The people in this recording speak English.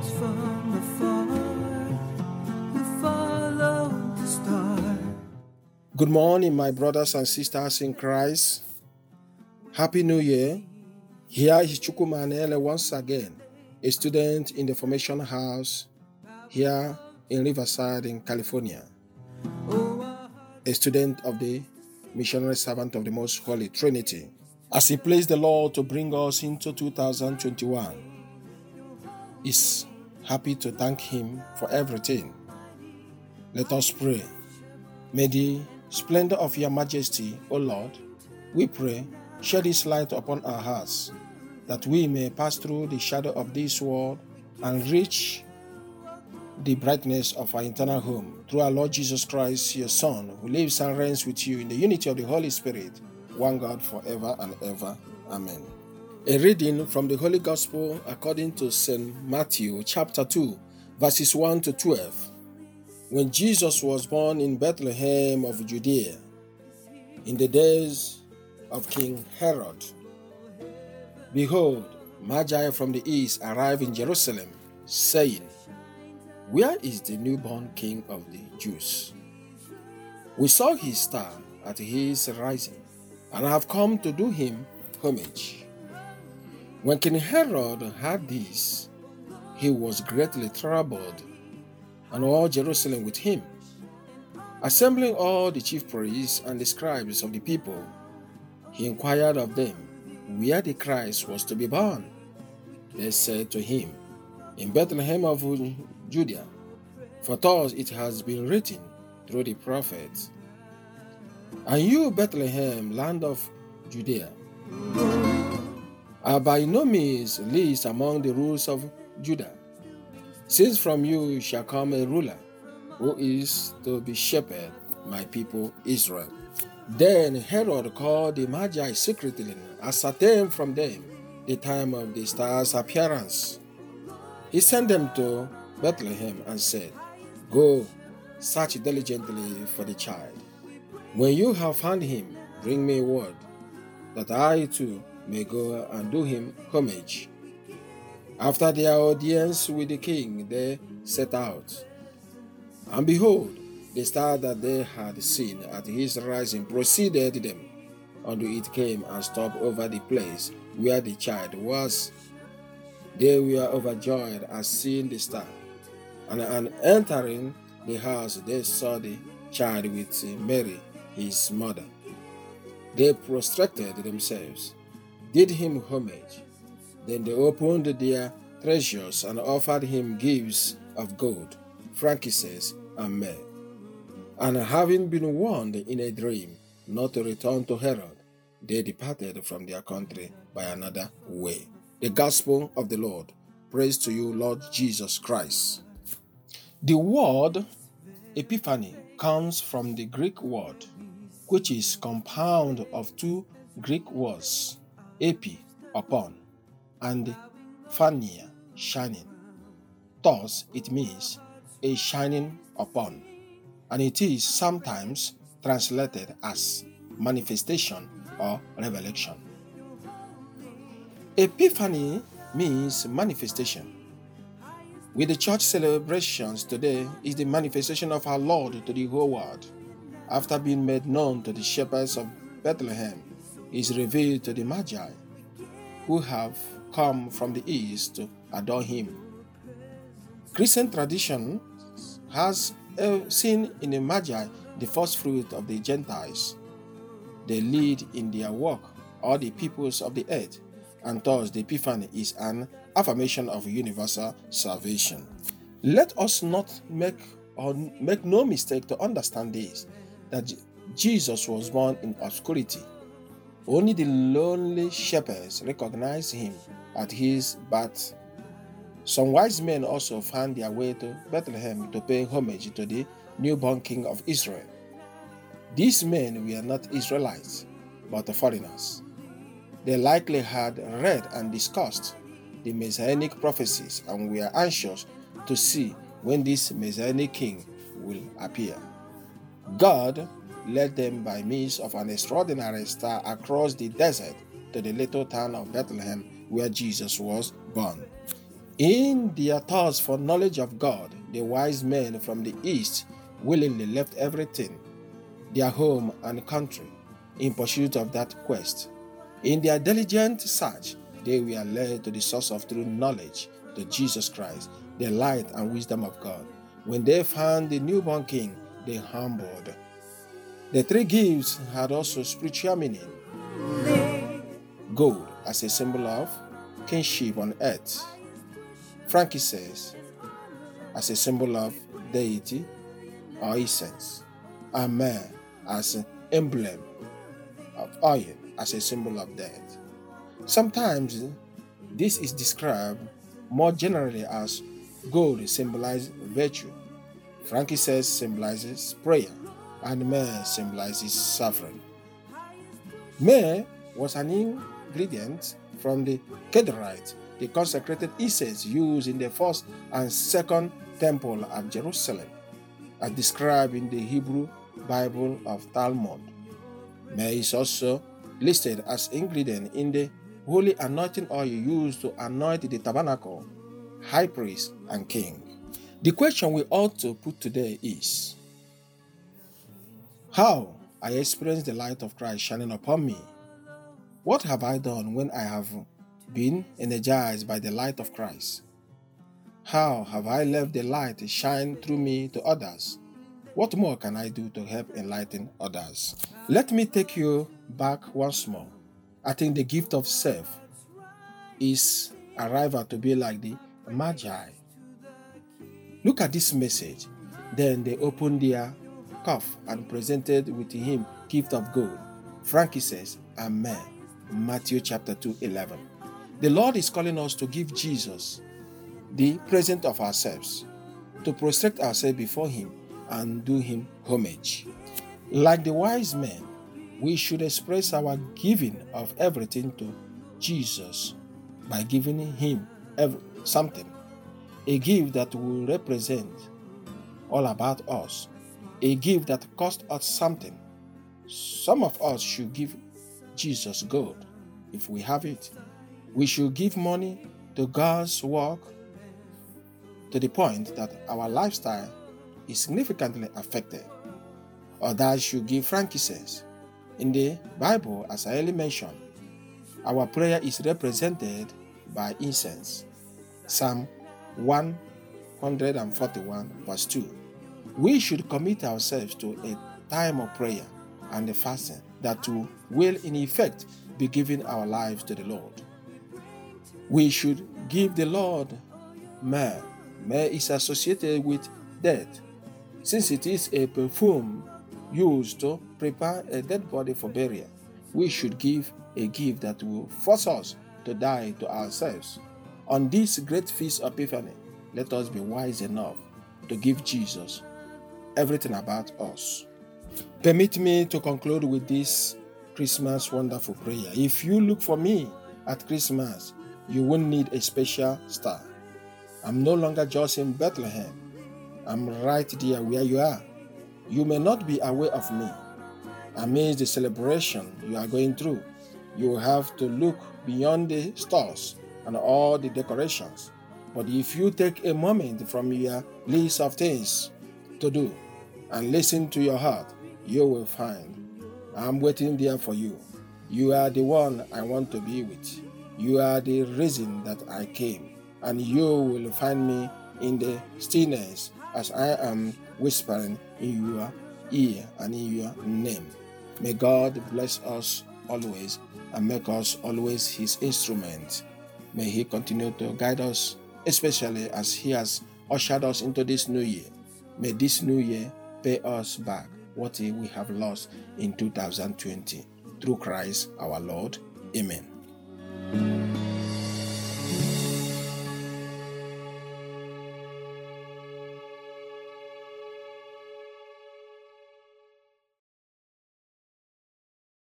from afar, we follow the star. Good morning, my brothers and sisters in Christ. Happy New Year. Here is Chukwumanele once again, a student in the Formation House here in Riverside in California, a student of the Missionary Servant of the Most Holy Trinity. As He pleased the Lord to bring us into 2021, is happy to thank Him for everything. Let us pray. May the splendor of Your Majesty, O Lord, we pray, shed His light upon our hearts, that we may pass through the shadow of this world and reach the brightness of our eternal home through our Lord Jesus Christ, Your Son, who lives and reigns with You in the unity of the Holy Spirit, one God forever and ever. Amen. A reading from the Holy Gospel according to St. Matthew chapter 2, verses 1 to 12. When Jesus was born in Bethlehem of Judea, in the days of King Herod, behold, Magi from the east arrived in Jerusalem, saying, Where is the newborn King of the Jews? We saw his star at his rising, and have come to do him homage. When King Herod heard this, he was greatly troubled, and all Jerusalem with him. Assembling all the chief priests and the scribes of the people, he inquired of them where the Christ was to be born. They said to him, In Bethlehem of Judea, for thus it has been written through the prophets. And you, Bethlehem, land of Judea, are by no means least among the rulers of Judah, since from you shall come a ruler, who is to be shepherd my people Israel. Then Herod called the Magi secretly, and ascertained from them the time of the star's appearance. He sent them to Bethlehem and said, Go, search diligently for the child. When you have found him, bring me word, that I too may go and do him homage. After their audience with the king, they set out. And behold, the star that they had seen at his rising preceded them, until it came and stopped over the place where the child was. They were overjoyed at seeing the star. And entering the house, they saw the child with Mary, his mother. They prostrated themselves, did him homage. Then they opened their treasures and offered him gifts of gold, frankincense, and myrrh. And having been warned in a dream not to return to Herod, they departed from their country by another way. The Gospel of the Lord. Praise to you, Lord Jesus Christ. The word Epiphany comes from the Greek word, which is compound of two Greek words, epi, upon, and phania, shining. Thus, it means a shining upon, and it is sometimes translated as manifestation or revelation. Epiphany means manifestation. With the church celebrations today is the manifestation of our Lord to the whole world. After being made known to the shepherds of Bethlehem, he is revealed to the Magi, who have come from the east to adore him. Christian tradition has seen in the Magi the first fruit of the Gentiles. They lead in their work all the peoples of the earth, and thus the Epiphany is an affirmation of universal salvation. Let us not make no mistake to understand this, that Jesus was born in obscurity. Only the lonely shepherds recognized him at his birth. Some wise men also found their way to Bethlehem to pay homage to the newborn King of Israel. These men were not Israelites, but foreigners. They likely had read and discussed the Messianic prophecies and were anxious to see when this Messianic king will appear. God led them by means of an extraordinary star across the desert to the little town of Bethlehem where Jesus was born. In their thirst for knowledge of God, the wise men from the east willingly left everything, their home and country, in pursuit of that quest. In their diligent search, they were led to the source of true knowledge, to Jesus Christ, the light and wisdom of God. When they found the newborn king, they humbled. The three gifts had also spiritual meaning. Gold as a symbol of kingship on earth. Frankincense as a symbol of deity or essence. And myrrh as an emblem of oil as a symbol of death. Sometimes this is described more generally as gold symbolizes virtue, frankincense symbolizes prayer, and myrrh symbolizes suffering. Myrrh was an ingredient from the Kidrite, the consecrated incense used in the first and second temple at Jerusalem, as described in the Hebrew Bible of Talmud. Myrrh is also listed as ingredient in the holy anointing oil used to anoint the tabernacle, high priest, and king. The question we ought to put today is, how I experience the light of Christ shining upon me? What have I done when I have been energized by the light of Christ? How have I left the light shine through me to others? What more can I do to help enlighten others? Let me take you back once more. I think the gift of self is arrival to be like the Magi. Look at this message. Then they opened their cup and presented with him gift of gold, frankincense, and myrrh. Matthew chapter 2:11. The Lord is calling us to give Jesus the present of ourselves, to prostrate ourselves before him and do him homage. Like the wise men, we should express our giving of everything to Jesus by giving him something, a gift that will represent all about us, a gift that cost us something. Some of us should give Jesus gold if we have it. We should give money to God's work to the point that our lifestyle is significantly affected. Others should give frankincense. In the Bible, as I earlier mentioned, our prayer is represented by incense. Psalm 141 verse 2. We should commit ourselves to a time of prayer and fasting that will in effect be giving our lives to the Lord. We should give the Lord myrrh. Myrrh is associated with death, since it is a perfume used to prepare a dead body for burial. We should give a gift that will force us to die to ourselves. On this great feast of Epiphany, let us be wise enough to give Jesus everything about us. Permit me to conclude with this Christmas wonderful prayer. If you look for me at Christmas, you won't need a special star. I'm no longer just in Bethlehem. I'm right there where you are. You may not be aware of me. Amidst the celebration you are going through, you will have to look beyond the stars and all the decorations. But if you take a moment from your list of things to do and listen to your heart, you will find I'm waiting there for you. You are the one I want to be with. You are the reason that I came, and you will find me in the stillness as I am whispering in your ear and in your name. May God bless us always and make us always his instrument. May he continue to guide us, especially as he has ushered us into this new year. May this new year pay us back what we have lost in 2020. Through Christ our Lord. Amen.